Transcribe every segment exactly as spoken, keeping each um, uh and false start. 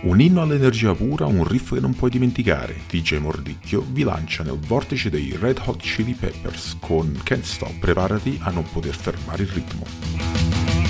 Un inno all'energia pura, un riff che non puoi dimenticare. D J Mordicchio vi lancia nel vortice dei Red Hot Chili Peppers con Can't Stop, preparati a non poter fermare il ritmo.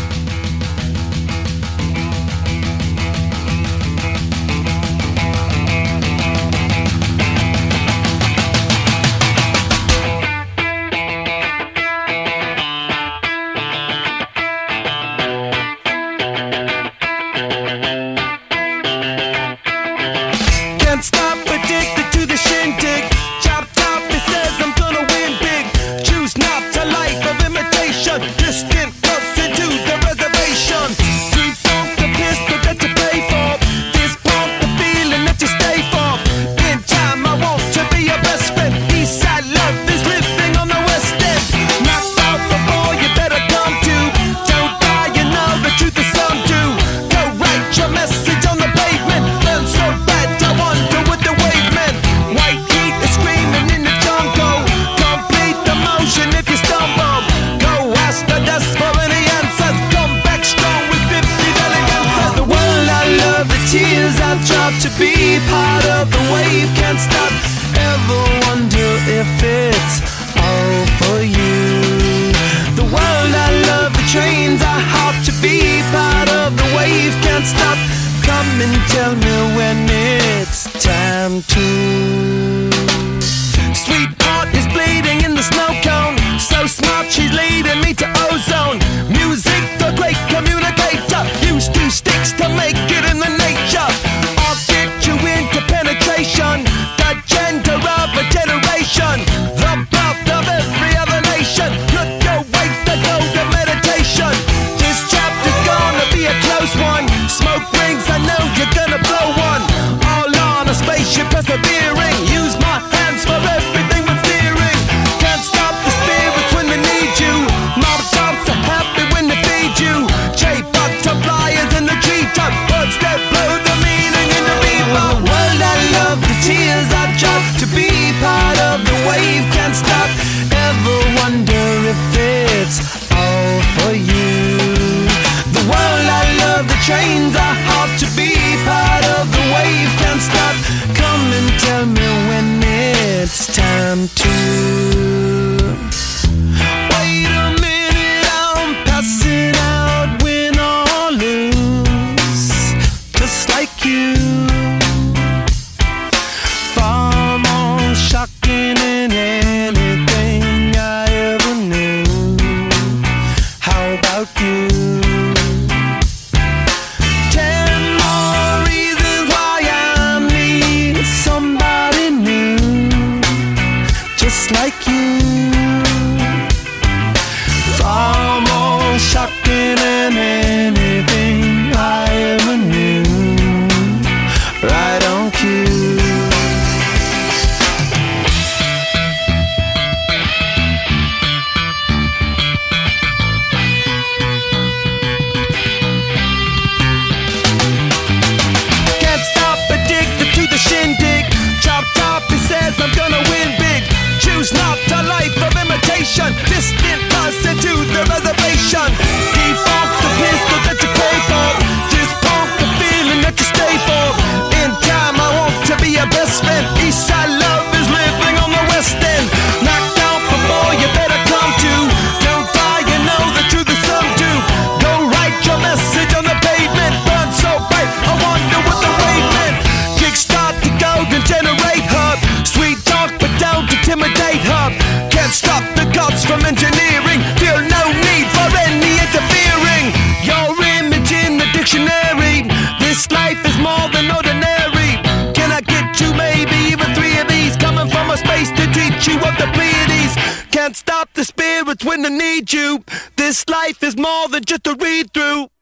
To be part of the wave, can't stop, ever wonder if it's all for you. The world I love, the trains I hop, to be part of the wave, can't stop. Come and tell me when it's time to. Sweetheart is bleeding in the snow cone, so smart she's leading me to ozone. Music, the great communicator, used two sticks to make it in the nature. Penetration, the gender of a generation, the birth of every other nation. Look your way to go to meditation. This chapter's gonna be a close one. Smoke rings, I know you're gonna blow one. All on a spaceship persevering. Use my hands for everything but steering. Can't stop the spirits when they need you. Mob tops are happy when they feed you. J-butterflies in the G-top. Words that blow the meaning in the people. Tears I drop, to be part of the wave, can't stop, ever wonder if it's all for you. The world I love, the trains I hop, to be part of the wave, can't stop. Come and tell me when it's time to. Wait a minute, I'm passing out, win or lose, just like you. Shocking in anything I ever knew. How about you? Ten more reasons why I need somebody new, just like you. Far more shocking than anything I ever knew. Right on cue. I'm gonna win big. Choose not a life of imitation. Distant person to the reservation. Default the pistol that you pay for. Just pump the feeling that you stay for. In time I want to be your best friend. Eastside love is living on the west end. Knocked out before you better come to. Don't die, you know the truth is some do. Go write your message on the pavement. Burn so bright, I wonder what the wave meant. Kickstart the golden generate hub. Sweet talk but don't intimidate her. Can't stop the gods from engineering. Feel no need for any interfering. Your image in the dictionary. This life is more than ordinary. Can I get you maybe even three of these? Coming from a space to teach you of the Pleiades. Can't stop the spirits when they need you. This life is more than just a read through.